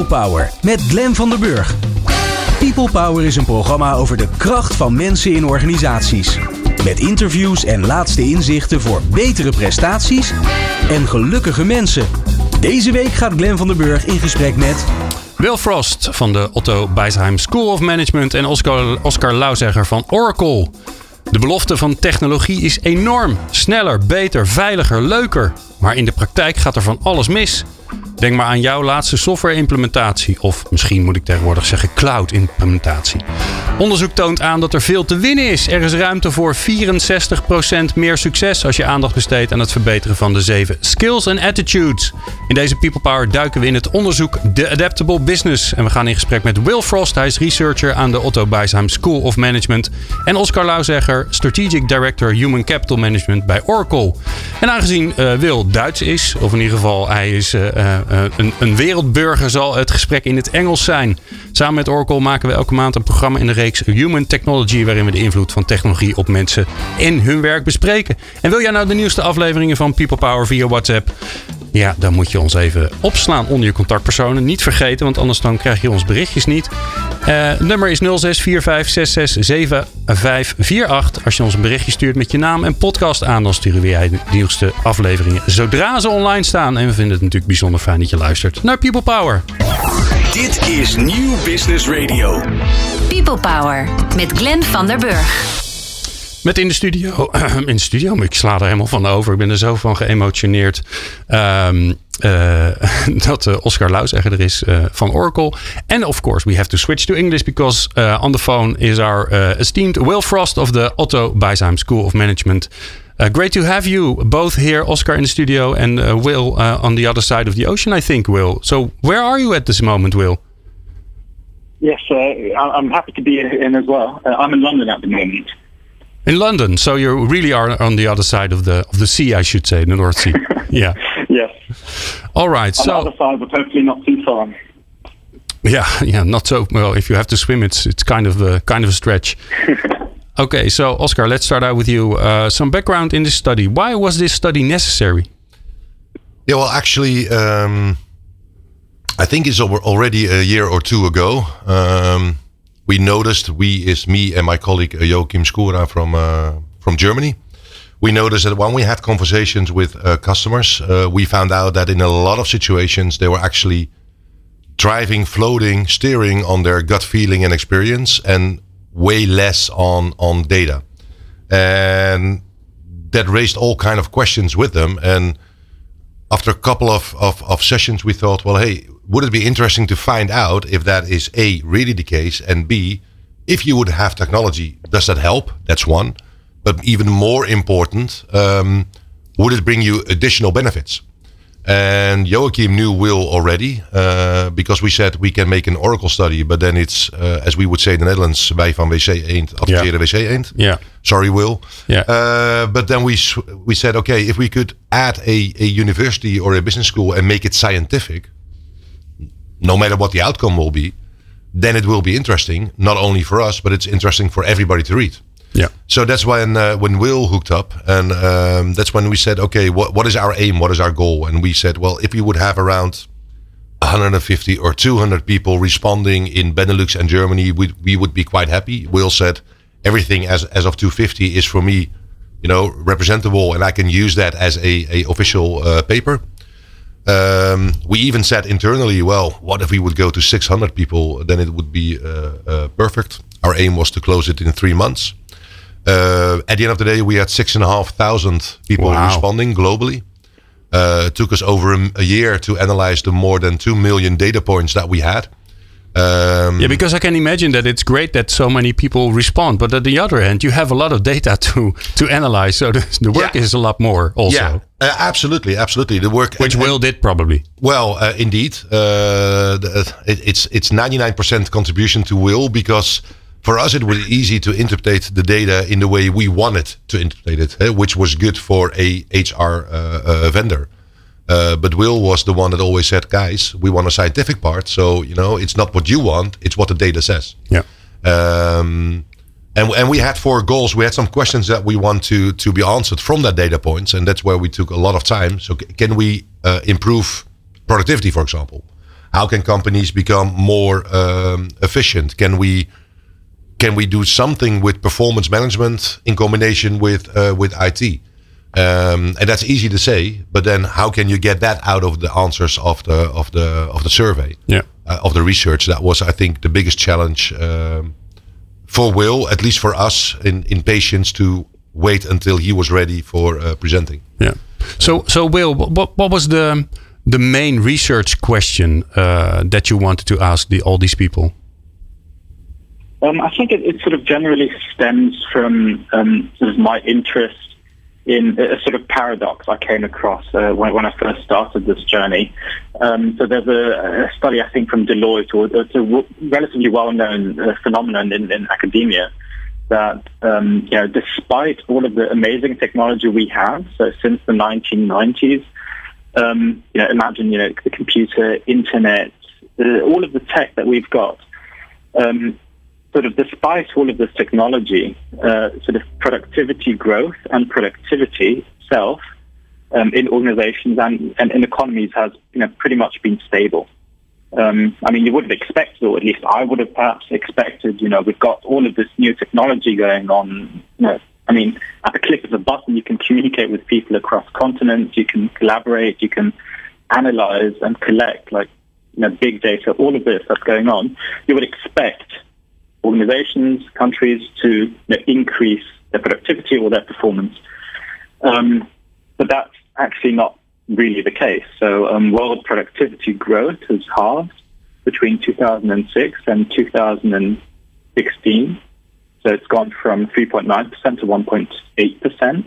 Power met Glenn van der Burg. People Power is een programma over de kracht van mensen in organisaties. Met interviews en laatste inzichten voor betere prestaties en gelukkige mensen. Deze week gaat Glenn van der Burg in gesprek met Will Frost van de Otto Beisheim School of Management en Oscar Lauzegger van Oracle. De belofte van technologie is enorm. Sneller, beter, veiliger, leuker. Maar in de praktijk gaat er van alles mis. Denk maar aan jouw laatste software-implementatie. Of misschien moet ik tegenwoordig zeggen cloud-implementatie. Onderzoek toont aan dat er veel te winnen is. Er is ruimte voor 64% meer succes als je aandacht besteedt aan het verbeteren van de 7 skills en attitudes. In deze People Power duiken we in het onderzoek The Adaptable Business. En we gaan in gesprek met Will Frost. Hij is researcher aan de Otto Beisheim School of Management. En Oscar Lauzegger, Strategic Director Human Capital Management bij Oracle. En aangezien Will Duits is, of in ieder geval hij is een wereldburger, zal het gesprek in het Engels zijn. Samen met Oracle maken we elke maand een programma in de reeks Human Technology, waarin we de invloed van technologie op mensen en hun werk bespreken. En wil jij nou de nieuwste afleveringen van People Power via WhatsApp? Ja, dan moet je ons even opslaan onder je contactpersonen. Niet vergeten, want anders dan krijg je ons berichtjes niet. Nummer is 0645667548. Als je ons een berichtje stuurt met je naam en podcast aan, dan sturen we jij de nieuwste afleveringen zodra ze online staan. En we vinden het natuurlijk bijzonder fijn dat je luistert naar People Power. Dit is Nieuw Business Radio. People Power met Glenn van der Burg. Met in de studio, maar ik sla er helemaal van over. Ik ben er zo van geëmotioneerd dat Oscar Lauzegger er is van Oracle. And of course we have to switch to English because on the phone is our esteemed Will Frost of the Otto Beisheim School of Management. Great to have you both here, Oscar in the studio and Will on the other side of the ocean, I think, Will. So where are you at this moment, Will? Yes, I'm happy to be in as well. I'm in London at the moment. In London, so you really are on the other side of the sea, I should say, the North Sea. Yeah. Yes. All right. On so the other side, but hopefully not too far. Yeah, not so well. If you have to swim, it's kind of a stretch. Okay, so Oscar, let's start out with you. Some background in this study. Why was this study necessary? Yeah, well, actually, I think it's already a year or two ago. We noticed, me and my colleague Joachim Skura from Germany. We noticed that when we had conversations with customers, we found out that in a lot of situations they were actually driving, floating, steering on their gut feeling and experience, and way less on data. And that raised all kind of questions with them. And after a couple of sessions, we thought, well, hey, would it be interesting to find out if that is A, really the case, and B, if you would have technology, does that help? That's one. But even more important, would it bring you additional benefits? And Joachim knew Will already, because we said we can make an Oracle study, but then it's, as we would say in the Netherlands, wij van WC Eend adverteren WC Eend. Yeah. Sorry, Will. Yeah. But then we said, okay, if we could add a university or a business school and make it scientific, no matter what the outcome will be, then it will be interesting, not only for us, but it's interesting for everybody to read. Yeah. So that's when Will hooked up, and that's when we said, okay, what is our aim? What is our goal? And we said, well, if we would have around 150 or 200 people responding in Benelux and Germany, we would be quite happy. Will said, everything as of 250 is for me, representable, and I can use that as a official paper. We even said internally, well, what if we would go to 600 people? Then it would be perfect. Our aim was to close it in 3 months. At the end of the day, we had 6,500 people responding globally. It took us over a year to analyze the more than 2 million data points that we had. Because I can imagine that it's great that so many people respond, but at the other hand, you have a lot of data to analyze, so the work is a lot more also. Yeah, absolutely. The work, which Will did probably. Well, indeed, it's 99% contribution to Will, because for us it was easy to interpret the data in the way we wanted to interpret it, which was good for a HR vendor. But Will was the one that always said, guys, we want a scientific part. So, it's not what you want, it's what the data says. Yeah. And we had 4 goals. We had some questions that we want to be answered from that data points. And that's where we took a lot of time. So can we improve productivity, for example? how can companies become more efficient? Can we do something with performance management in combination with IT? And that's easy to say, but then how can you get that out of the answers of the survey, of the research? That was, I think, the biggest challenge for Will, at least for us, in patience to wait until he was ready for presenting. Yeah. So Will, what was the main research question that you wanted to ask all these people? I think it sort of generally stems from sort of my interest in a sort of paradox I came across when I first started this journey. So there's a study, I think, from Deloitte, or it's a relatively well-known phenomenon in academia, that despite all of the amazing technology we have, so since the 1990s, imagine the computer, internet, all of the tech that we've got. Sort of despite all of this technology, sort of productivity growth and productivity itself in organizations and in economies has pretty much been stable. I mean, you would have expected, or at least I would have perhaps expected, we've got all of this new technology going on. I mean, at the click of a button, you can communicate with people across continents, you can collaborate, you can analyze and collect, big data, all of this that's going on. You would expect organizations, countries to increase their productivity or their performance. But that's actually not really the case. So world productivity growth has halved between 2006 and 2016. So it's gone from 3.9% to 1.8%.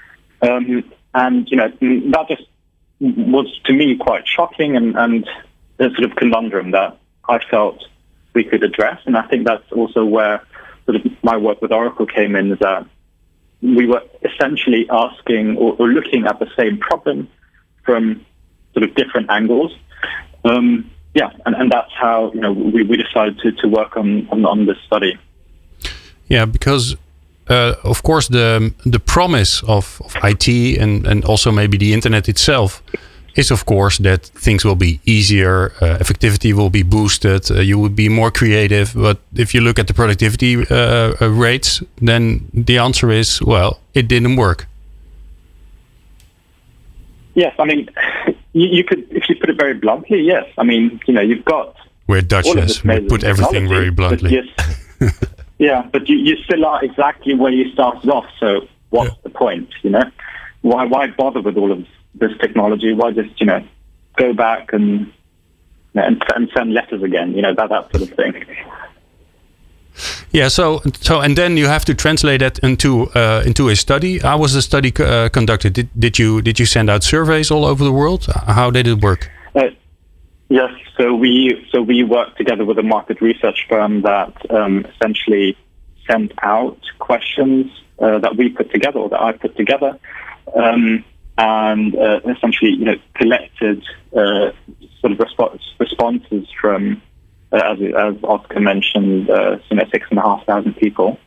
And, that just was, to me, quite shocking and a sort of conundrum that I felt we could address. And I think that's also where sort of my work with Oracle came in, is that we were essentially asking or looking at the same problem from sort of different angles. And that's how we decided to work on this study. Yeah, because of course the promise of IT and also maybe the internet itself is of course that things will be easier, effectivity will be boosted, you would be more creative. But if you look at the productivity rates, then the answer is, well, it didn't work. Yes, I mean, you could, if you put it very bluntly, yes. I mean, you've got... We're Dutch, yes. We put everything very bluntly. Yes, yeah, but you still are exactly where you started off. So what's the point, Why bother with all of this technology? Why just, go back and send letters again, that sort of thing. Yeah, so and then you have to translate that into a study. How was the study conducted? Did you send out surveys all over the world? How did it work? Yes, so we worked together with a market research firm that essentially sent out questions that we put together, or that I put together, and essentially collected sort of responses from. As Oscar mentioned, 6,500 people.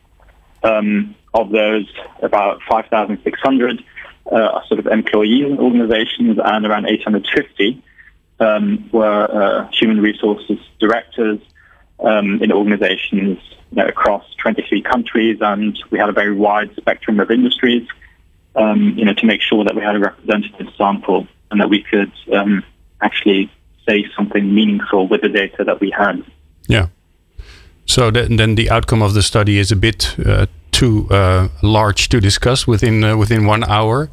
Of those, about 5,600 are sort of employee organizations, and around 850 were human resources directors in organizations across 23 countries, and we had a very wide spectrum of industries, to make sure that we had a representative sample and that we could actually say something meaningful with the data that we had. Yeah. So then the outcome of the study is a bit too large to discuss within 1 hour.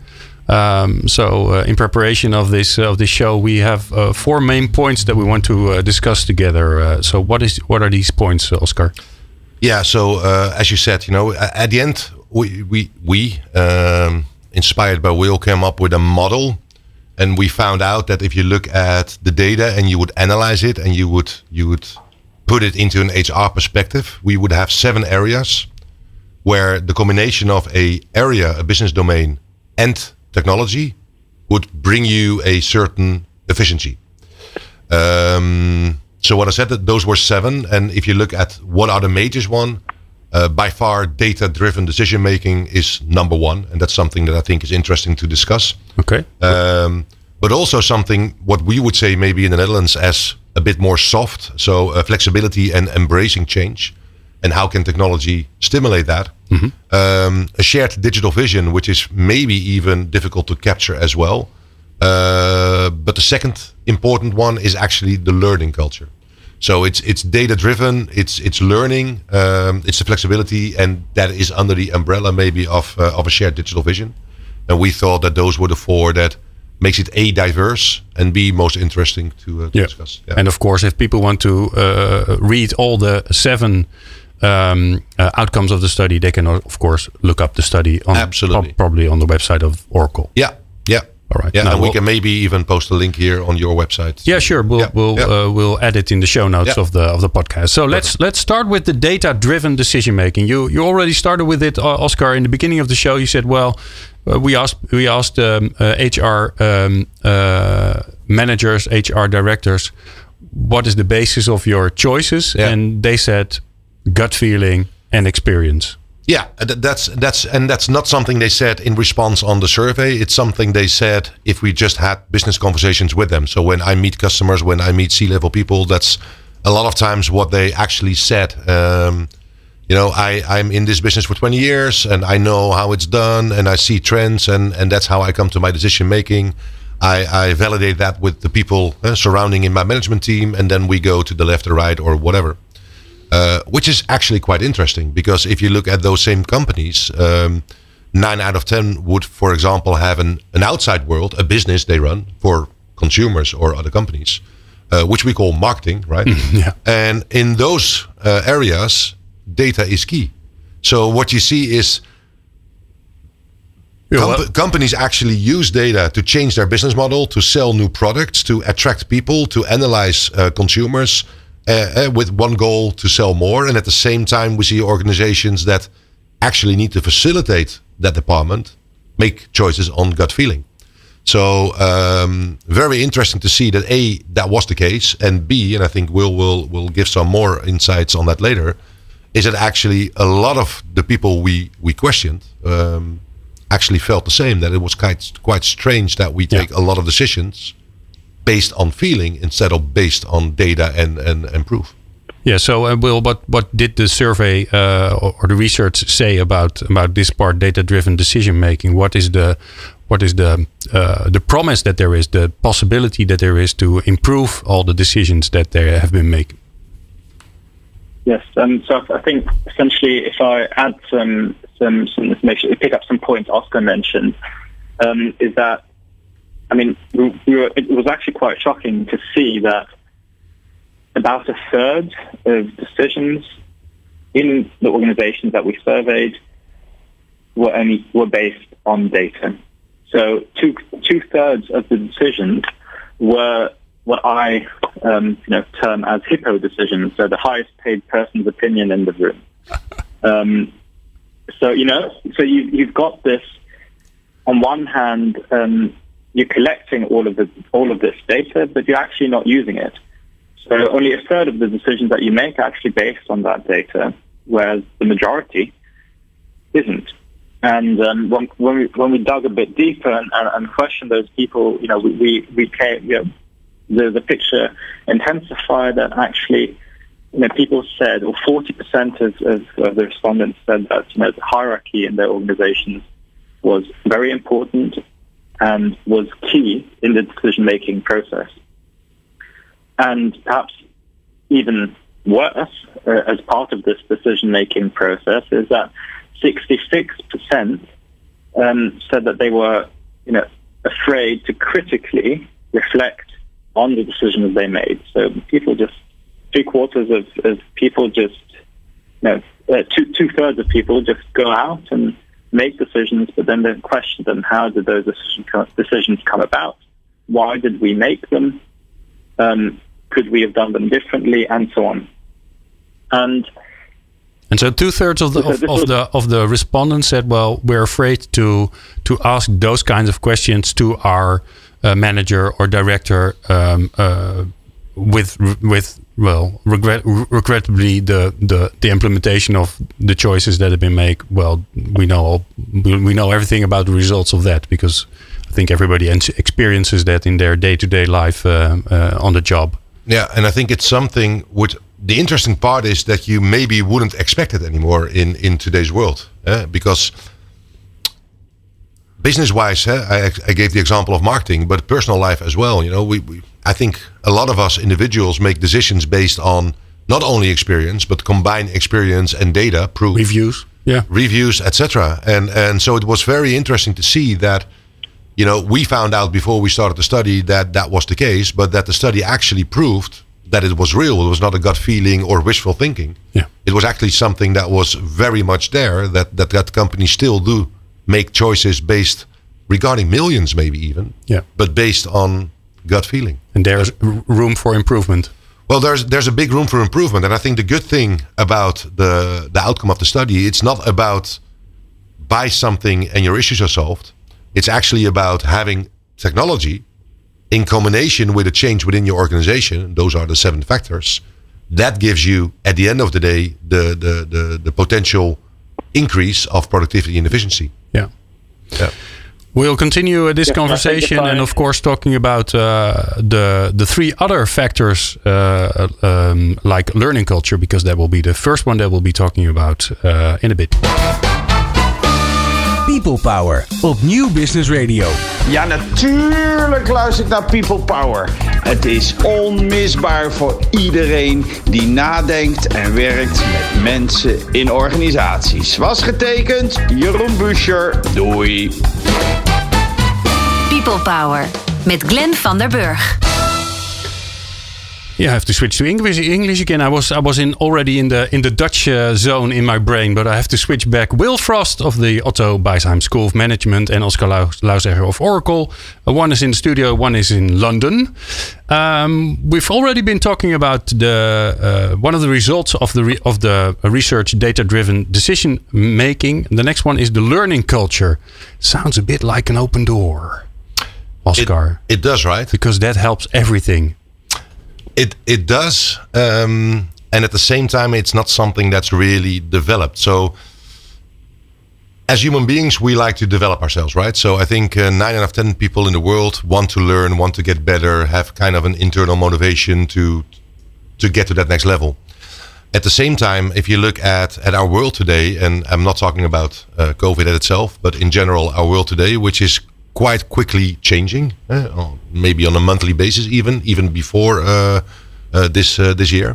So in preparation of this show, we have 4 main points that we want to discuss together. So what are these points, Oscar? Yeah. So as you said, at the end, we inspired by Will, came up with a model. And we found out that if you look at the data and you would analyze it and you would put it into an HR perspective, we would have 7 areas where the combination of a business domain and technology would bring you a certain efficiency. So what I said, that those were 7. And if you look at what are the majors one, by far data-driven decision making is number 1, and that's something that I think is interesting to discuss. Okay. But also something what we would say maybe in the Netherlands as a bit more soft. So flexibility and embracing change. And how can technology stimulate that? A shared digital vision, which is maybe even difficult to capture as well. But the second important one is actually the learning culture. So it's data driven, it's learning, it's the flexibility, and that is under the umbrella maybe of a shared digital vision. And we thought that those were the four that makes it A, diverse, and B, most interesting to discuss. Yeah. And of course, if people want to read all the 7 outcomes of the study, they can of course look up the study on Absolutely. Probably on the website of Oracle. Yeah. All right. Yeah, now and we can maybe even post a link here on your website. Yeah, sure. We'll add it in the show notes of the podcast. So let's start with the data-driven decision making. You already started with it, Oscar, in the beginning of the show. You said, well, we asked HR managers, HR directors, what is the basis of your choices? Yeah. And they said gut feeling and experience. Yeah, that's not something they said in response on the survey. It's something they said if we just had business conversations with them. So when I meet customers, when I meet C-level people, that's a lot of times what they actually said. I'm in this business for 20 years and I know how it's done and I see trends and that's how I come to my decision making. I validate that with the people surrounding in my management team, and then we go to the left or right or whatever. Which is actually quite interesting, because if you look at those same companies, 9 out of 10 would, for example, have an outside world, a business they run for consumers or other companies, which we call marketing, right? Yeah. And in those areas, data is key. So what you see is companies actually use data to change their business model, to sell new products, to attract people, to analyze consumers, with one goal to sell more. And at the same time, we see organizations that actually need to facilitate that department make choices on gut feeling. So very interesting to see that A, that was the case, and B, and I think we'll give some more insights on that later, is that actually a lot of the people we questioned actually felt the same, that it was quite strange that we take a lot of decisions based on feeling instead of based on data and proof. Yeah. So, Will, what did the survey or the research say about this part, data-driven decision making? What is the promise that there is, the possibility that there is to improve all the decisions that they have been making? Yes. So I think essentially, if I add some information, pick up some points Oscar mentioned, is that, I mean, it was actually quite shocking to see that about a third of decisions in the organizations that we surveyed were based on data. So two-thirds of the decisions were what I term as HIPPO decisions, so the highest paid person's opinion in the room. So you've got this. On one hand, you're collecting all of this data, but you're actually not using it. So only a third of the decisions that you make are actually based on that data, whereas the majority isn't. And when we dug a bit deeper and questioned those people, we came, the picture intensified that actually, people said, or 40% of the respondents said that the hierarchy in their organizations was very important and was key in the decision-making process. And perhaps even worse, as part of this decision-making process, is that 66% said that they were, afraid to critically reflect on the decisions they made. So people just, 3/4 of people just, 2/3 of people just go out and make decisions, but then they question them. How did those decisions come about? Why did we make them? Could we have done them differently, and so on? And so 2/3 of the respondents said, "Well, we're afraid to ask those kinds of questions to our manager or director regrettably the implementation of the choices that have been made. Well, we know everything about the results of that, because I think everybody experiences that in their day-to-day life on the job." Yeah, and I think it's something which the interesting part is that you maybe wouldn't expect it anymore in today's world, because business-wise, I gave the example of marketing, but personal life as well. You know, I think a lot of us individuals make decisions based on not only experience, but combine experience and data, proof, reviews, etc. And so it was very interesting to see that, you know, we found out before we started the study that was the case, but that the study actually proved that it was real. It was not a gut feeling or wishful thinking. Yeah. It was actually something that was very much there, that companies still do make choices based regarding millions, maybe even, but based on gut feeling. And there's room for improvement. Well, there's a big room for improvement. And I think the good thing about the outcome of the study, it's not about buy something and your issues are solved. It's actually about having technology in combination with a change within your organization. Those are the 7 factors. That gives you, at the end of the day, the potential increase of productivity and efficiency. Yeah. We'll continue this conversation and, of course, talking about the 3 other factors like learning culture, because that will be the first one that we'll be talking about in a bit. People Power op Nieuw Business Radio. Ja, natuurlijk luister ik naar People Power. Het is onmisbaar voor iedereen die nadenkt en werkt met mensen in organisaties. Was getekend, Jeroen Buescher. Doei. People Power met Glenn van der Burg. Yeah, I have to switch to English again. I was already in the Dutch zone in my brain, but I have to switch back. Will Frost of the Otto Beisheim School of Management and Oscar Lauzegger of Oracle. One is in the studio, one is in London. We've already been talking about the one of the results of the research, data-driven decision making. The next one is the learning culture. Sounds a bit like an open door, Oscar. It does, right? Because that helps everything. It does, and at the same time, it's not something that's really developed. So, as human beings, we like to develop ourselves, right? So, I think 9 out of 10 people in the world want to learn, want to get better, have kind of an internal motivation to get to that next level. At the same time, if you look at our world today, and I'm not talking about COVID itself, but in general, our world today, which is quite quickly changing, maybe on a monthly basis, even before this year.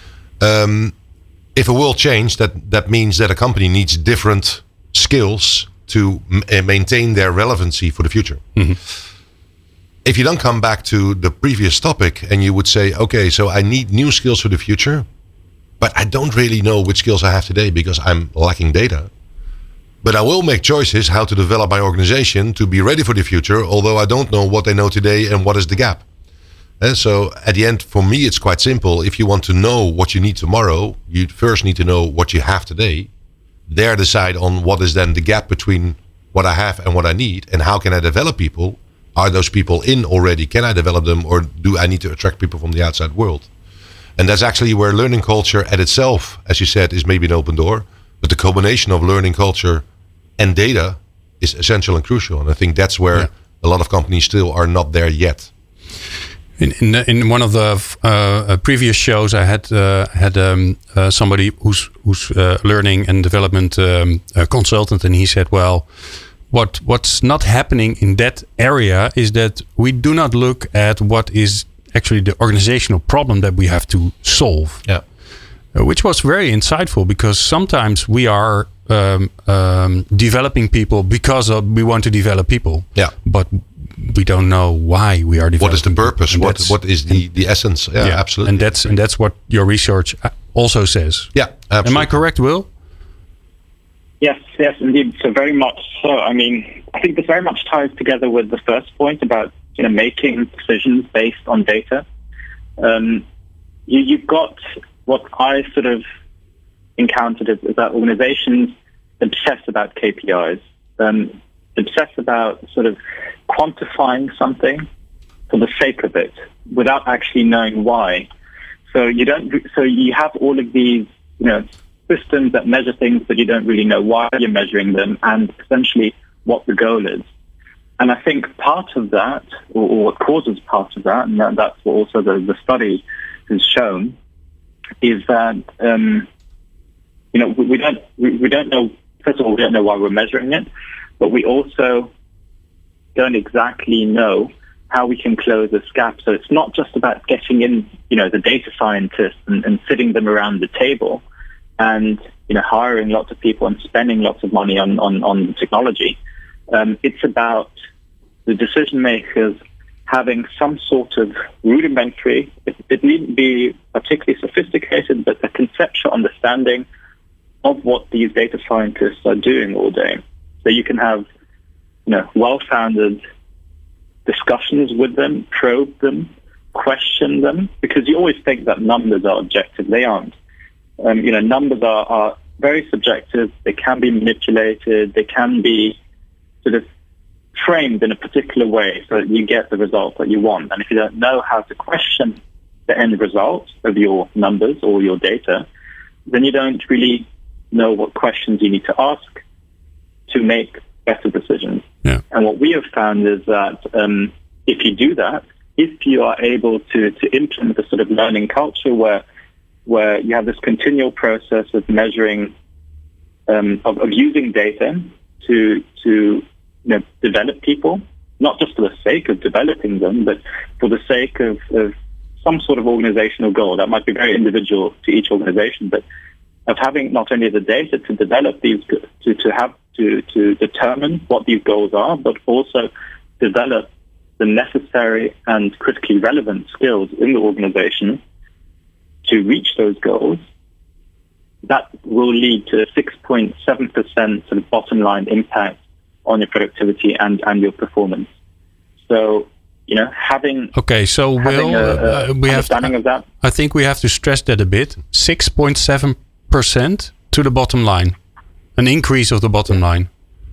If a world change, that means that a company needs different skills to maintain their relevancy for the future. Mm-hmm. If you don't come back to the previous topic and you would say, okay, so I need new skills for the future, but I don't really know which skills I have today because I'm lacking data. But I will make choices how to develop my organization to be ready for the future, although I don't know what they know today and what is the gap. And so at the end, for me, it's quite simple. If you want to know what you need tomorrow, you first need to know what you have today. There decide on what is then the gap between what I have and what I need, and how can I develop people? Are those people in already? Can I develop them, or do I need to attract people from the outside world? And that's actually where learning culture at itself, as you said, is maybe an open door. But the combination of learning culture and data is essential and crucial. And I think that's where a lot of companies still are not there yet. In one of the previous shows, I had somebody who's learning and development consultant, and he said, well, what's not happening in that area is that we do not look at what is actually the organizational problem that we have to solve. Yeah. Which was very insightful, because sometimes we are developing people because we want to develop people. Yeah. But we don't know why we are developing. What is the purpose? What is the essence? Yeah, absolutely. And that's what your research also says. Yeah, absolutely. Am I correct, Will? Yes, indeed. So very much so. I mean, I think this very much ties together with the first point about making decisions based on data. You've got what I sort of encountered is that organizations obsess about KPIs, obsess about sort of quantifying something for the sake of it without actually knowing why. So you have all of these, systems that measure things, but you don't really know why you're measuring them and essentially what the goal is. And I think part of that, or what causes part of that, and that's what also the study has shown is that we don't know. First of all, we don't know why we're measuring it, but we also don't exactly know how we can close this gap. So it's not just about getting in, the data scientists and sitting them around the table and, hiring lots of people and spending lots of money on technology. It's about the decision makers having some sort of rudimentary, it needn't be particularly sophisticated, but a conceptual understanding of what these data scientists are doing all day. So you can have, well-founded discussions with them, probe them, question them, because you always think that numbers are objective. They aren't. Numbers are very subjective. They can be manipulated. They can be sort of framed in a particular way so that you get the result that you want. And if you don't know how to question the end result of your numbers or your data, then you don't really know what questions you need to ask to make better decisions. Yeah. And what we have found is that if you do that, if you are able to implement a sort of learning culture where you have this continual process of measuring, of using data to develop people, not just for the sake of developing them, but for the sake of some sort of organizational goal. That might be very individual to each organization, but of having not only the data to develop these, to determine what these goals are, but also develop the necessary and critically relevant skills in the organization to reach those goals, that will lead to a 6.7% sort of bottom line impact on your productivity and your performance. So, having we have of that. I think we have to stress that a bit. 6.7% to the bottom line, an increase of the bottom line.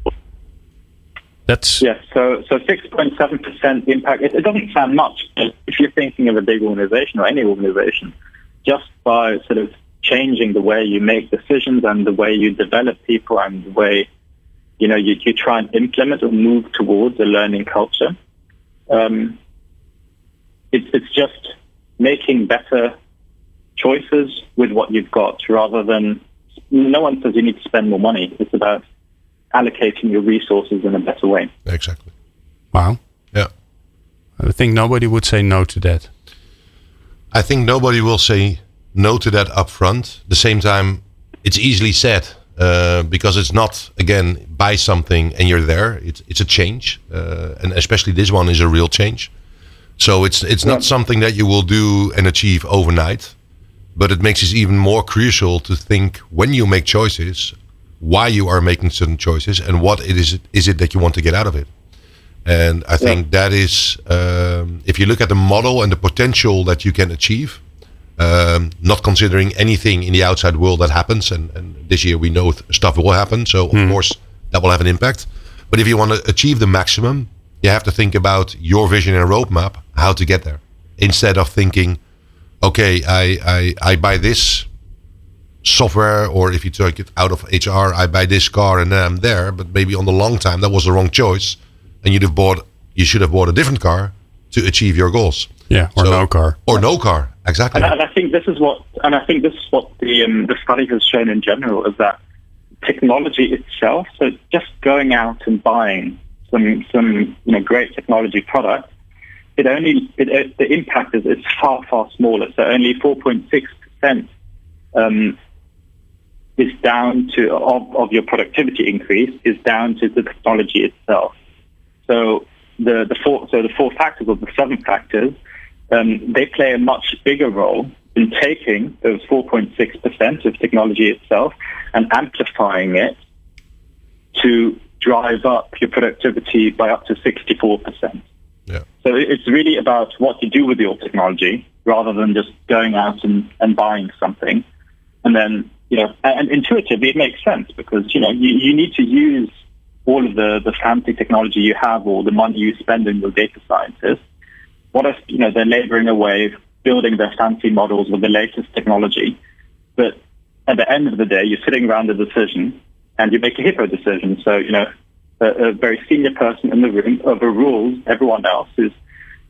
That's yes. So 6.7% impact. It doesn't sound much, but if you're thinking of a big organization or any organization, just by sort of changing the way you make decisions and the way you develop people and the way you try and implement or move towards a learning culture. It's just making better choices with what you've got rather than, no one says you need to spend more money. It's about allocating your resources in a better way. Exactly. Wow. Yeah. I think nobody would say no to that. I think nobody will say no to that up front. At the same time, it's easily said because it's not, again, buy something and you're there. It's a change. And especially this one is a real change. So it's not something that you will do and achieve overnight. But it makes it even more crucial to think when you make choices, why you are making certain choices and what is it that you want to get out of it. And I think that is, if you look at the model and the potential that you can achieve, not considering anything in the outside world that happens, and this year we know stuff will happen, so of course that will have an impact. But if you want to achieve the maximum, you have to think about your vision and roadmap, how to get there, instead of thinking, okay, I buy this software, or if you take it out of HR, I buy this car and then I'm there. But maybe on the long time, that was the wrong choice, and you should have bought a different car to achieve your goals. Yeah, or no car. Or no car, exactly. And I think this is what the study has shown in general, is that technology itself. So just going out and buying some great technology product, the impact is far smaller. So only 4.6% is down to of your productivity increase is down to the technology itself. So the four factors or the 7 factors, they play a much bigger role in taking those 4.6% of technology itself and amplifying it to drive up your productivity by up to 64%. Yeah. So it's really about what you do with your technology rather than just going out and buying something. And then, and intuitively it makes sense because, you need to use all of the fancy technology you have or the money you spend on your data scientists. What if, they're laboring away, building their fancy models with the latest technology, but at the end of the day, you're sitting around a decision and you make a hippo decision. So, a very senior person in the room overrules everyone else who's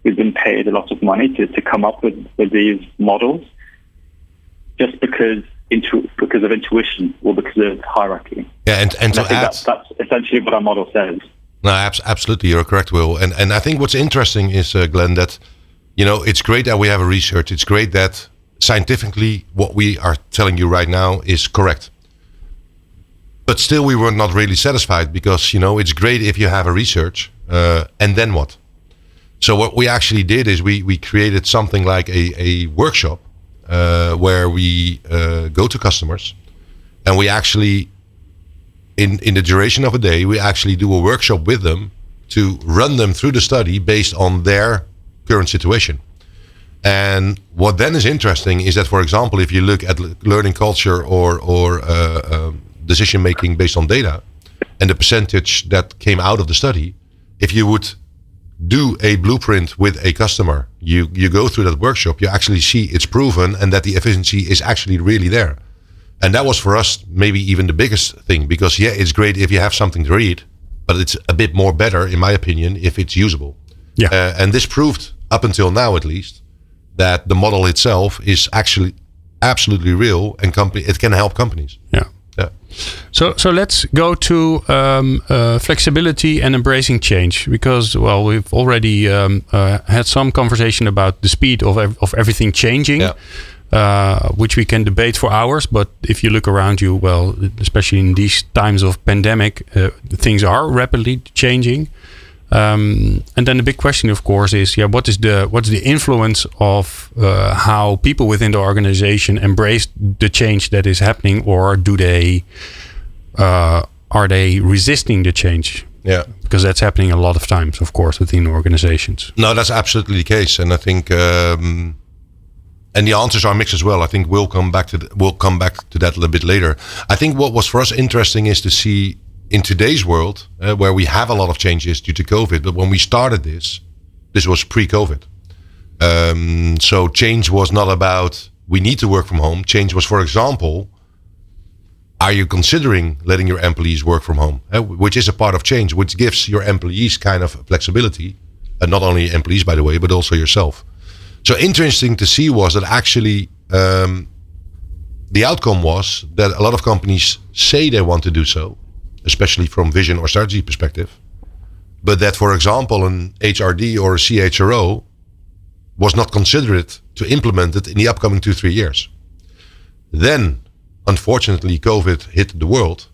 who's been paid a lot of money to come up with these models just because of intuition or because of hierarchy. Yeah, and I to think add, that's essentially what our model says. no, absolutely, you're correct, Will. And I think what's interesting is, Glenn, that it's great that we have a research. It's great that scientifically what we are telling you right now is correct. But still, we were not really satisfied because it's great if you have a research, and then what? So what we actually did is we created something like a workshop where we go to customers, and we actually, in the duration of a day, we actually do a workshop with them to run them through the study based on their current situation. And what then is interesting is that, for example, if you look at learning culture or decision making based on data, and the percentage that came out of the study, if you would do a blueprint with a customer, you go through that workshop, you actually see it's proven and that the efficiency is actually really there. And that was for us maybe even the biggest thing, because it's great if you have something to read, but it's a bit more better, in my opinion, if it's usable. Yeah. And this proved, up until now at least, that the model itself is actually absolutely real, and it can help companies. Yeah. Yeah. So let's go to flexibility and embracing change, because we've already had some conversation about the speed of everything changing, which we can debate for hours. But if you look around you, especially in these times of pandemic, things are rapidly changing. And then the big question, of course, is what's the influence of how people within the organization embrace the change that is happening, or are they resisting the change? Yeah, because that's happening a lot of times, of course, within organizations. No, that's absolutely the case, and I think, and the answers are mixed as well. I think we'll come back to that a little bit later. I think what was for us interesting is to see, in today's world, where we have a lot of changes due to COVID, but when we started this was pre-COVID. So change was not about we need to work from home. Change was, for example, are you considering letting your employees work from home? Which is a part of change, which gives your employees kind of flexibility. And not only employees, by the way, but also yourself. So interesting to see was that actually the outcome was that a lot of companies say they want to do so, especially from vision or strategy perspective, but that, for example, an HRD or a CHRO was not considered to implement it in the upcoming 2-3 years. Then, unfortunately, COVID hit the world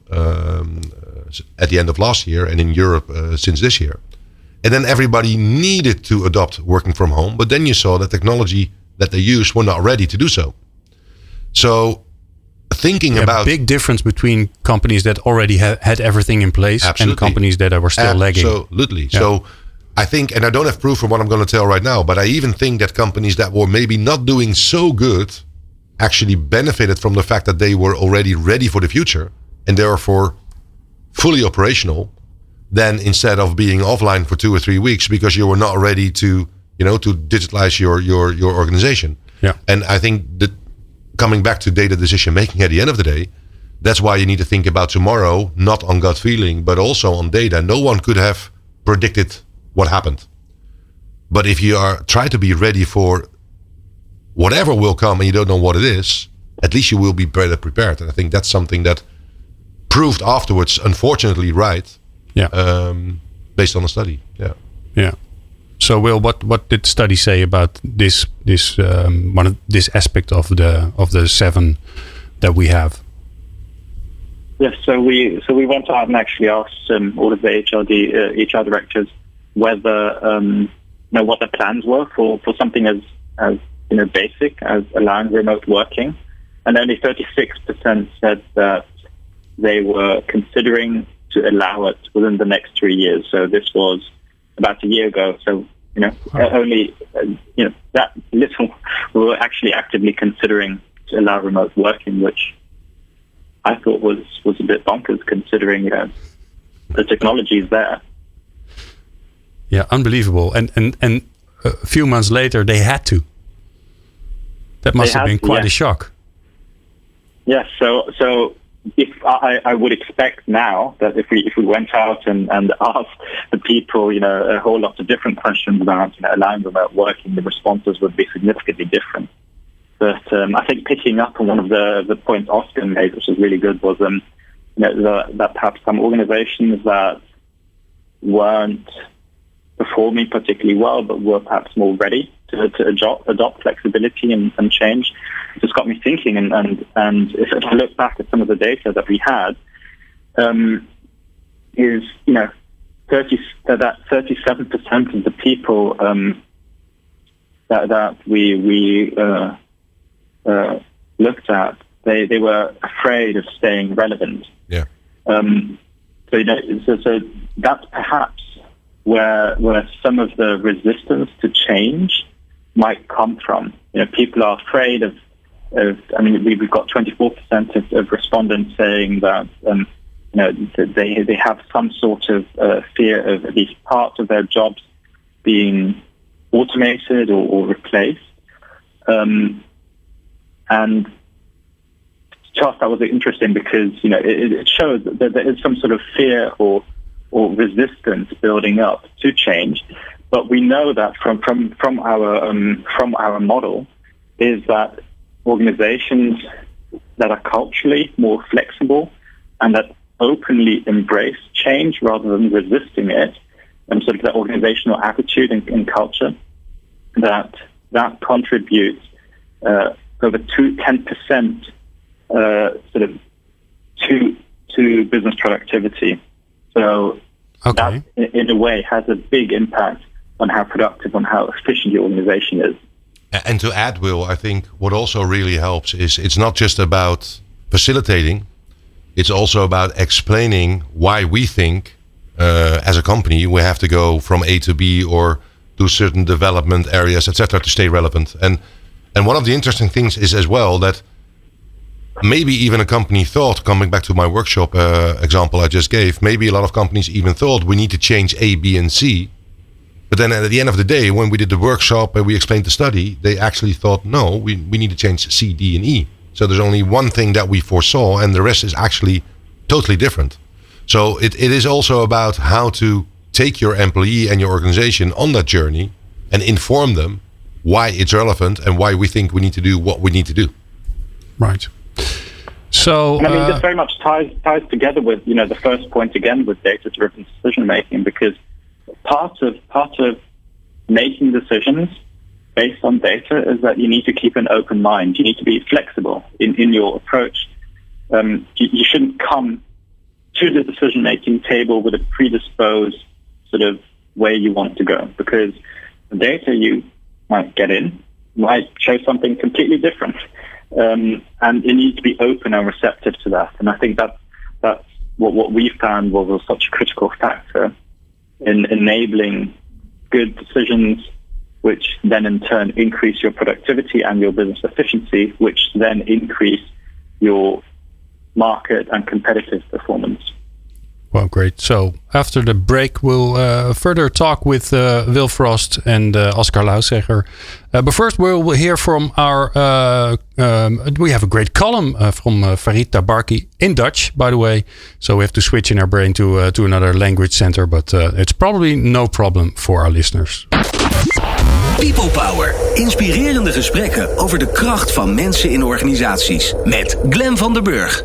at the end of last year, and in Europe since this year. And then everybody needed to adopt working from home, but then you saw the technology that they used were not ready to do so. So thinking about big difference between companies that already had everything in place and companies that were still lagging. Absolutely. Yeah. So I think, and I don't have proof from what I'm going to tell right now, but I even think that companies that were maybe not doing so good actually benefited from the fact that they were already ready for the future and therefore fully operational, than instead of being offline for 2 or 3 weeks because you were not ready to digitalize your organization. Yeah. And I think that coming back to data decision making at the end of the day, that's why you need to think about tomorrow, not on gut feeling, but also on data. No one could have predicted what happened. But if you try to be ready for whatever will come and you don't know what it is, at least you will be better prepared. And I think that's something that proved afterwards, unfortunately, right. Yeah. Based on a study. Yeah. Yeah. So, Will, what did the study say about this aspect of the 7 that we have? Yes, so we went out and actually asked all of the HR directors whether what their plans were for something as basic as allowing remote working, and only 36% said that they were considering to allow it within the next 3 years. So this was about a year ago. So only that little were actually actively considering to allow remote working, which I thought was a bit bonkers considering the technology is there. Yeah, unbelievable. And a few months later, they had to. That must have been quite a shock. Yes. So if I would expect now that if we went out and asked the people, a whole lot of different questions about allowing remote working, the responses would be significantly different. But I think picking up on one of the points Oscar made, which was really good, was that perhaps some organizations that weren't performing particularly well, but were perhaps more ready to adopt flexibility and change. It just got me thinking. And if I look back at some of the data that we had, is 37% of the people that we looked at, they were afraid of staying relevant. Yeah. So that's perhaps where some of the resistance to change might come from. People are afraid of. We've got 24% of respondents saying that they have some sort of fear of at least part of their jobs being automated or replaced. And just that was interesting because it shows that there is some sort of fear or resistance building up to change, but we know that from our model is that organizations that are culturally more flexible and that openly embrace change rather than resisting it, and sort of the organizational attitude and culture, that contributes over 10% sort of to business productivity. So that, in a way, has a big impact on how productive, on how efficient the organization is. And to add, Will, I think what also really helps is it's not just about facilitating, it's also about explaining why we think as a company we have to go from A to B or do certain development areas, etc., to stay relevant. And one of the interesting things is as well that maybe even a company thought, coming back to my workshop example I just gave, maybe a lot of companies even thought we need to change A, B, and C. But then at the end of the day, when we did the workshop and we explained the study, they actually thought, no, we need to change C, D, and E. So there's only one thing that we foresaw and the rest is actually totally different. So it is also about how to take your employee and your organization on that journey and inform them why it's relevant and why we think we need to do what we need to do. Right. So this very much ties together with the first point again with data-driven decision making, because part of making decisions based on data is that you need to keep an open mind. You need to be flexible in your approach. You shouldn't come to the decision making table with a predisposed sort of way you want to go, because the data you might get in might show something completely different. And you need to be open and receptive to that. And I think that's what we found was such a critical factor in enabling good decisions, which then in turn increase your productivity and your business efficiency, which then increase your market and competitive performance. Well, great. So after the break, we'll further talk with Will Frost and Oscar Lausegger. But first, we'll hear from our... we have a great column from Farid Tabarki in Dutch, by the way. So we have to switch in our brain to another language center. But it's probably no problem for our listeners. People Power. Inspirerende gesprekken over de kracht van mensen in organisaties. Met Glenn van der Burg.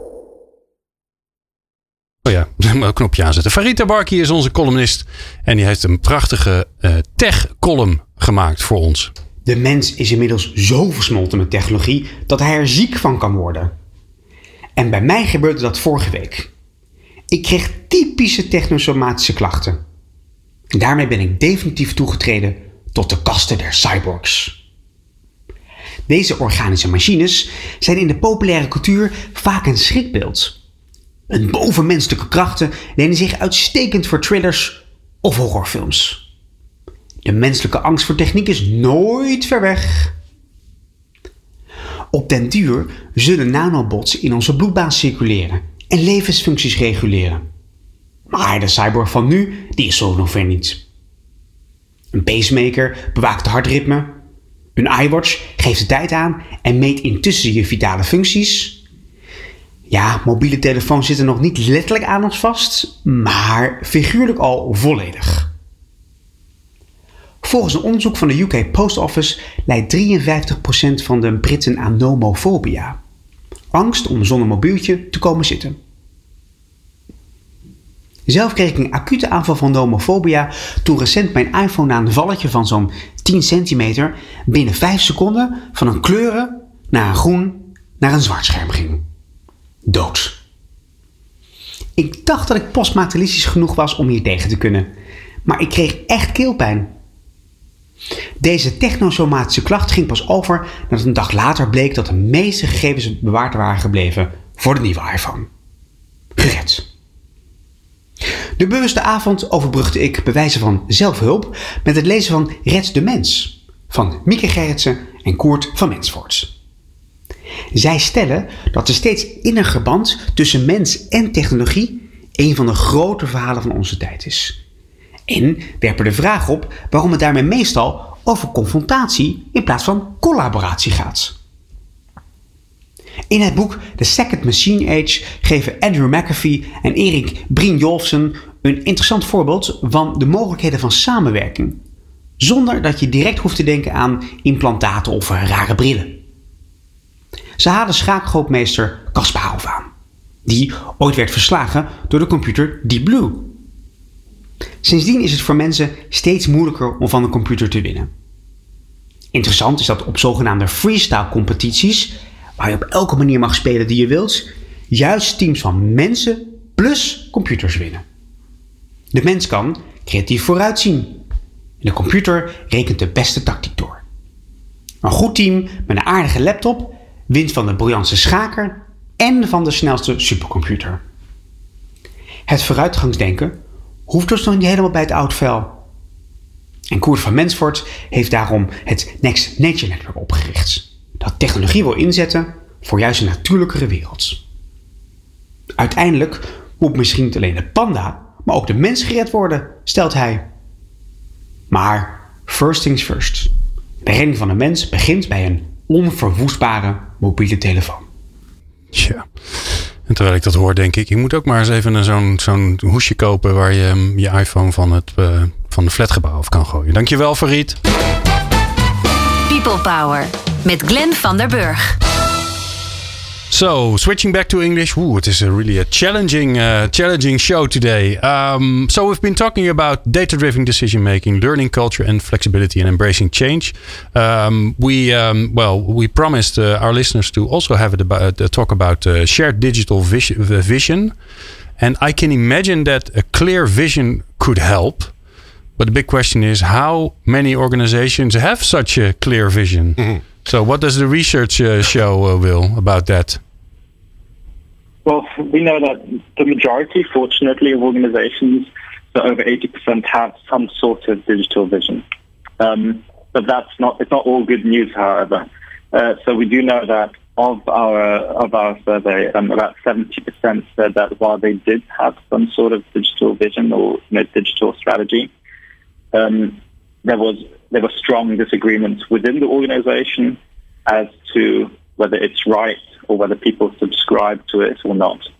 Oh ja, een knopje aanzetten. Farid Tabarki is onze columnist. En die heeft een prachtige tech-column gemaakt voor ons. De mens is inmiddels zo versmolten met technologie dat hij er ziek van kan worden. En bij mij gebeurde dat vorige week. Ik kreeg typische technosomatische klachten. En daarmee ben ik definitief toegetreden tot de kaste der cyborgs. Deze organische machines zijn in de populaire cultuur vaak een schrikbeeld. Hun bovenmenselijke krachten lenen zich uitstekend voor thrillers of horrorfilms. De menselijke angst voor techniek is nooit ver weg. Op den duur zullen nanobots in onze bloedbaan circuleren en levensfuncties reguleren. Maar de cyborg van nu, die is zo nog ver niet. Een pacemaker bewaakt het hartritme. Een iWatch geeft de tijd aan en meet intussen je vitale functies. Ja, mobiele telefoons zitten nog niet letterlijk aan ons vast, maar figuurlijk al volledig. Volgens een onderzoek van de UK Post Office lijdt 53% van de Britten aan nomofobia. Angst om zonder mobieltje te komen zitten. Zelf kreeg ik een acute aanval van nomofobia toen recent mijn iPhone na een valletje van zo'n 10 centimeter binnen 5 seconden van een kleuren naar een groen naar een zwart scherm ging. Dood. Ik dacht dat ik postmaterialistisch genoeg was om hier tegen te kunnen, maar ik kreeg echt keelpijn. Deze technosomatische klacht ging pas over nadat een dag later bleek dat de meeste gegevens bewaard waren gebleven voor de nieuwe iPhone. Gered. De bewuste avond overbrugde ik bij wijze van zelfhulp met het lezen van Red de Mens van Mieke Gerritsen en Koert van Mensvoort. Zij stellen dat de steeds inniger band tussen mens en technologie een van de grote verhalen van onze tijd is. En werpen de vraag op waarom het daarmee meestal over confrontatie in plaats van collaboratie gaat. In het boek The Second Machine Age geven Andrew McAfee en Erik Brynjolfsson een interessant voorbeeld van de mogelijkheden van samenwerking, zonder dat je direct hoeft te denken aan implantaten of rare brillen. Ze halen schaakgrootmeester Kasparov aan, die ooit werd verslagen door de computer Deep Blue. Sindsdien is het voor mensen steeds moeilijker om van een computer te winnen. Interessant is dat op zogenaamde freestyle competities, waar je op elke manier mag spelen die je wilt, juist teams van mensen plus computers winnen. De mens kan creatief vooruitzien. De computer rekent de beste tactiek door. Een goed team met een aardige laptop wint van de briljantste schaker en van de snelste supercomputer. Het vooruitgangsdenken hoeft dus nog niet helemaal bij het oud vel. En Koert van Mensvoort heeft daarom het Next Nature Network opgericht, dat technologie wil inzetten voor juist een natuurlijkere wereld. Uiteindelijk moet misschien niet alleen de panda, maar ook de mens gered worden, stelt hij. Maar first things first. De redding van de mens begint bij een onverwoestbare mobiele telefoon. Tja. En terwijl ik dat hoor, denk ik moet ook maar eens even zo'n hoesje kopen waar je je iPhone van de flatgebouw af kan gooien. Dankjewel, Farid. People Power met Glenn van der Burg. So, switching back to English. It is really a challenging show today. So we've been talking about data-driven decision-making, learning culture and flexibility and embracing change. We promised our listeners to also have a talk about shared digital vision. And I can imagine that a clear vision could help. But the big question is how many organizations have such a clear vision? Mm-hmm. So what does the research show, Will, about that? Well, we know that the majority, fortunately, of organizations, so over 80%, have some sort of digital vision. But it's not all good news, however. So we do know that of our survey, about 70% said that while they did have some sort of digital vision or digital strategy, there were strong disagreements within the organization as to whether it's right or whether people subscribe to it or not.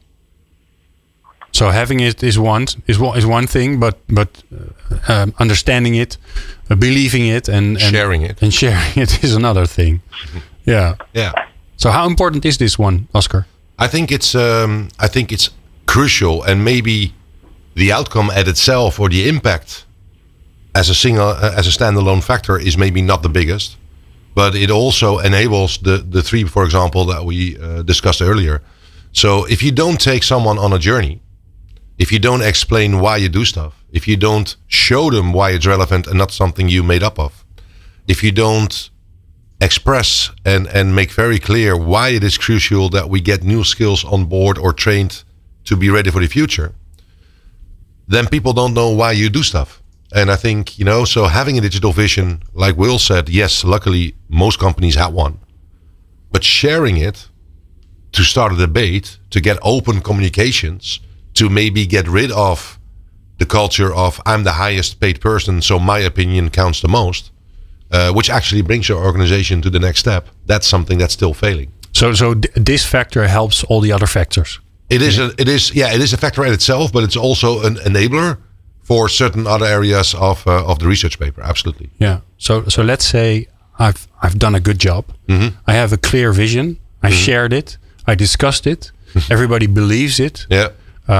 So having it is one thing, but understanding it, believing it, and sharing it is another thing. Yeah. So how important is this one, Oscar? I think it's crucial, and maybe the outcome at itself or the impact as a standalone factor is maybe not the biggest, but it also enables the three, for example, that we discussed earlier. So if you don't take someone on a journey, if you don't explain why you do stuff, if you don't show them why it's relevant and not something you made up of, if you don't express and make very clear why it is crucial that we get new skills on board or trained to be ready for the future, then people don't know why you do stuff. And I think, so having a digital vision, like Will said, yes, luckily most companies have one. But sharing it to start a debate, to get open communications, to maybe get rid of the culture of I'm the highest paid person, so my opinion counts the most, which actually brings your organization to the next step. That's something that's still failing. So this factor helps all the other factors. It is a factor in itself, but it's also an enabler for certain other areas of the research paper. Absolutely. Yeah. So let's say I've done a good job. Mm-hmm. I have a clear vision. I shared it. I discussed it. Everybody believes it. Yeah.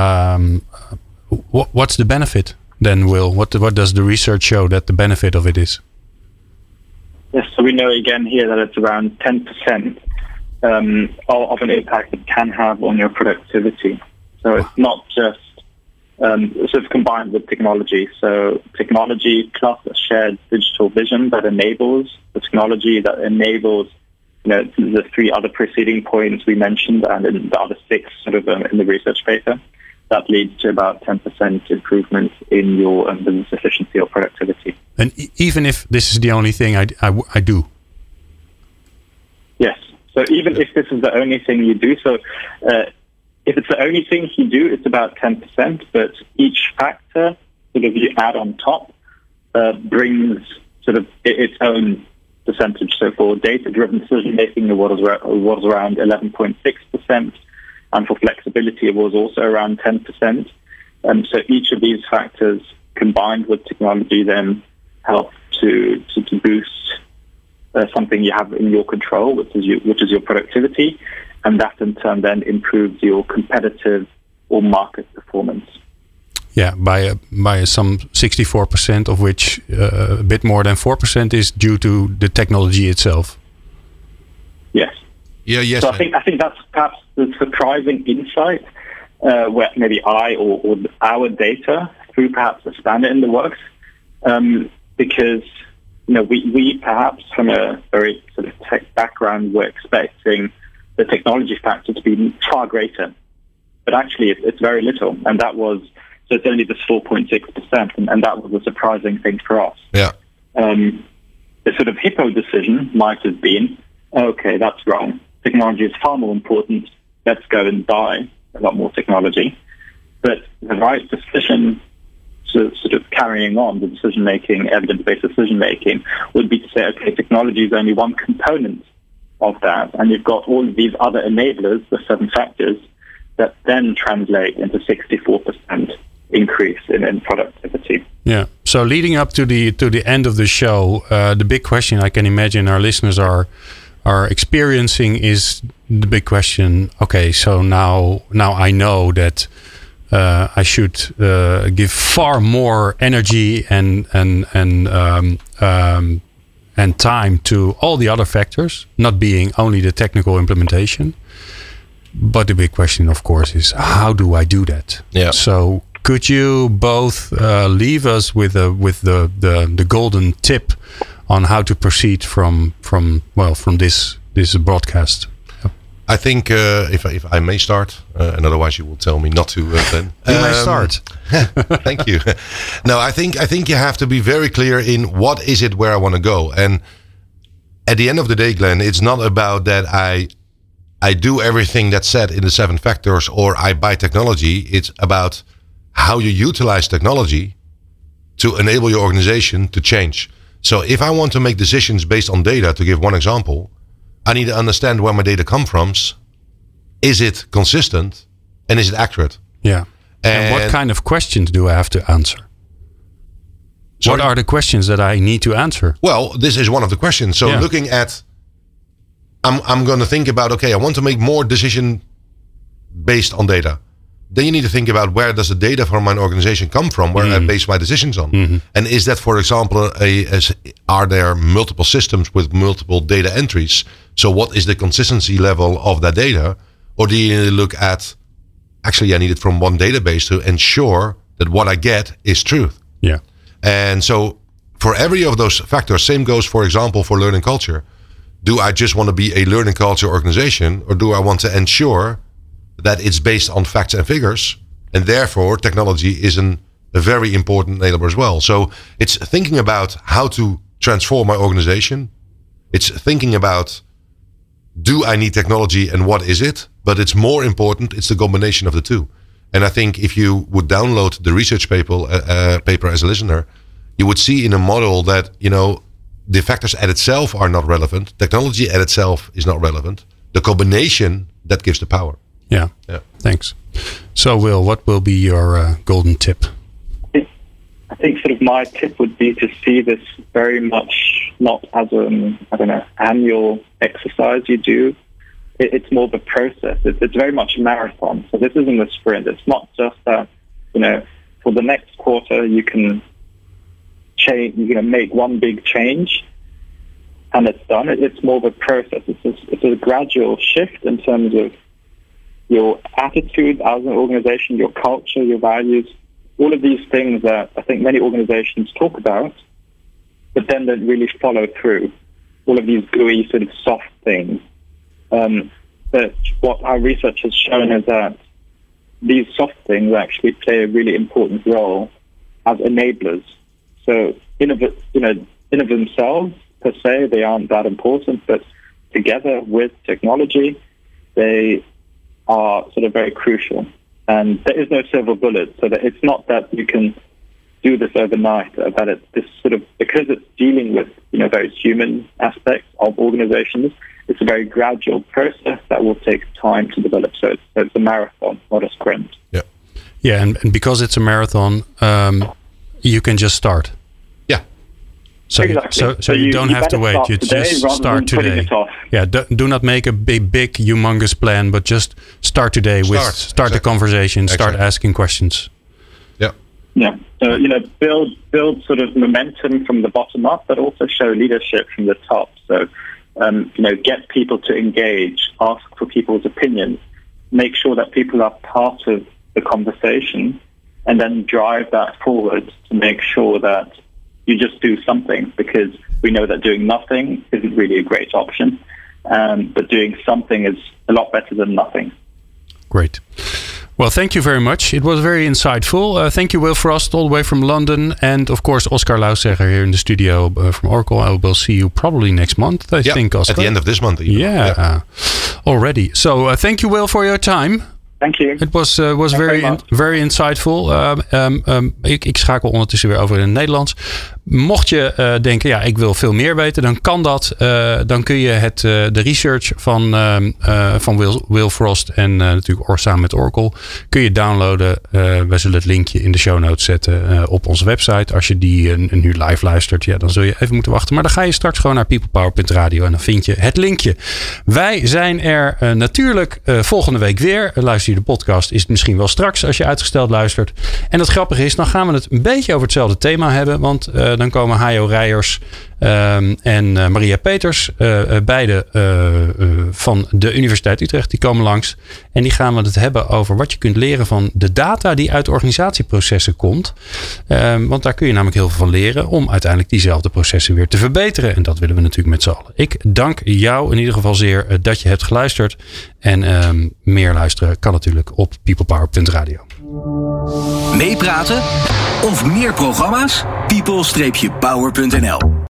What's the benefit then, Will? What does the research show that the benefit of it is? Yes, so we know again here that it's around 10% of an impact it can have on your productivity. So it's not just sort of combined with technology. So technology plus a shared digital vision that enables the technology that enables the three other preceding points we mentioned and in the other six sort of in the research paper. That leads to about 10% improvement in your business efficiency or productivity. And even if this is the only thing I do? Yes. So even if this is the only thing you do, so if it's the only thing you do, it's about 10%, but each factor sort of you add on top brings sort of its own percentage. So for data-driven decision-making, it was around 11.6%. And for flexibility, it was also around 10%. So each of these factors combined with technology then help to boost something you have in your control, which is your productivity, and that in turn then improves your competitive or market performance. Yeah, by some 64%, of which a bit more than 4% is due to the technology itself. Yes. Yeah. Yes. So I think that's perhaps the surprising insight where maybe I or our data through perhaps a standard in the works, because we perhaps from a very sort of tech background were expecting the technology factor to be far greater, but actually it's very little, and that was so it's only this 4.6%, and that was a surprising thing for us. Yeah. The sort of Hippo decision might have been, okay, that's wrong. Technology is far more important. Let's go and buy a lot more technology. But the right decision to sort of carrying on the decision-making, evidence-based decision-making, would be to say, okay, technology is only one component of that. And you've got all of these other enablers, the 7 factors, that then translate into 64% increase in productivity. Yeah. So leading up to the end of the show, the big question I can imagine our listeners are experiencing is the big question. Okay, so now I know that I should give far more energy and time to all the other factors, not being only the technical implementation. But the big question, of course, is how do I do that? Yeah. So could you both leave us with the golden tip on how to proceed from this broadcast? I think if I may start, and otherwise you will tell me not to. Then you may start. Thank you. No, I think you have to be very clear in what is it where I want to go. And at the end of the day, Glenn, it's not about that I do everything that's said in the 7 factors or I buy technology. It's about how you utilize technology to enable your organization to change. So if I want to make decisions based on data, to give one example, I need to understand where my data comes from. Is it consistent and is it accurate? Yeah. And what kind of questions do I have to answer? Sorry? What are the questions that I need to answer? Well, this is one of the questions. So looking at, I'm going to think about, okay, I want to make more decision based on data. Then you need to think about where does the data from my organization come from, where I base my decisions on. Mm-hmm. And is that, for example, are there multiple systems with multiple data entries? So what is the consistency level of that data? Or do you need to look at, actually, I need it from one database to ensure that what I get is truth. Yeah. And so for every of those factors, same goes, for example, for learning culture. Do I just want to be a learning culture organization, or do I want to ensure that it's based on facts and figures, and therefore technology is a very important enabler as well. So it's thinking about how to transform my organization. It's thinking about, do I need technology and what is it? But it's more important, it's the combination of the two. And I think if you would download the research paper as a listener, you would see in a model that, the factors at itself are not relevant. Technology at itself is not relevant. the combination that gives the power. Yeah. Thanks. So, Will, what will be your golden tip? I think sort of my tip would be to see this very much not as an annual exercise you do. It's more of a process. It's very much a marathon. So this isn't a sprint. It's not just that, for the next quarter you can change, make one big change and it's done. It's more of a process. It's a gradual shift in terms of your attitude as an organization, your culture, your values, all of these things that I think many organizations talk about, but then don't really follow through. All of these gooey sort of soft things. But what our research has shown is that these soft things actually play a really important role as enablers. So in of themselves, per se, they aren't that important, but together with technology, they are sort of very crucial. And there is no silver bullet, so that it's not that you can do this overnight, that it's this sort of, because it's dealing with, very human aspects of organizations, it's a very gradual process that will take time to develop. So it's a marathon, not a sprint. Yeah. Yeah, and because it's a marathon, you can just start. Yeah. So exactly. So you don't have to wait. You just start today. Yeah. Do not make a big, humongous plan, but just start today. Start the conversation. Start asking questions. Yeah. Yeah. So build sort of momentum from the bottom up, but also show leadership from the top. So get people to engage, ask for people's opinions, make sure that people are part of the conversation, and then drive that forward to make sure that you just do something, because we know that doing nothing isn't really a great option, but doing something is a lot better than nothing. Great. Well, thank you very much. It was very insightful. Thank you, Will Frost, all the way from London. And, of course, Oscar Lausegger here in the studio from Oracle. I will see you probably next month, I think, Oscar. At the end of this month. Yeah. Already. So, thank you, Will, for your time. Thank you. Het was very insightful. Ik schakel ondertussen weer over in het Nederlands. Mocht je denken, ik wil veel meer weten, dan kan dat. Dan kun je de research van Will Frost en natuurlijk samen met Oracle kun je downloaden. Wij zullen het linkje in de show notes zetten op onze website. Als je die nu live luistert, dan zul je even moeten wachten. Maar dan ga je straks gewoon naar peoplepower.radio en dan vind je het linkje. Wij zijn er natuurlijk volgende week weer. Luister je de podcast, is het misschien wel straks als je uitgesteld luistert. En het grappige is, dan gaan we het een beetje over hetzelfde thema hebben. Want dan komen Hajo Rijers en Maria Peters, beide van de Universiteit Utrecht, die komen langs. En die gaan we het hebben over wat je kunt leren van de data die uit organisatieprocessen komt. Want daar kun je namelijk heel veel van leren om uiteindelijk diezelfde processen weer te verbeteren. En dat willen we natuurlijk met z'n allen. Ik dank jou in ieder geval zeer dat je hebt geluisterd. En meer luisteren kan natuurlijk op peoplepower.radio. Meepraten of meer programma's? people-power.nl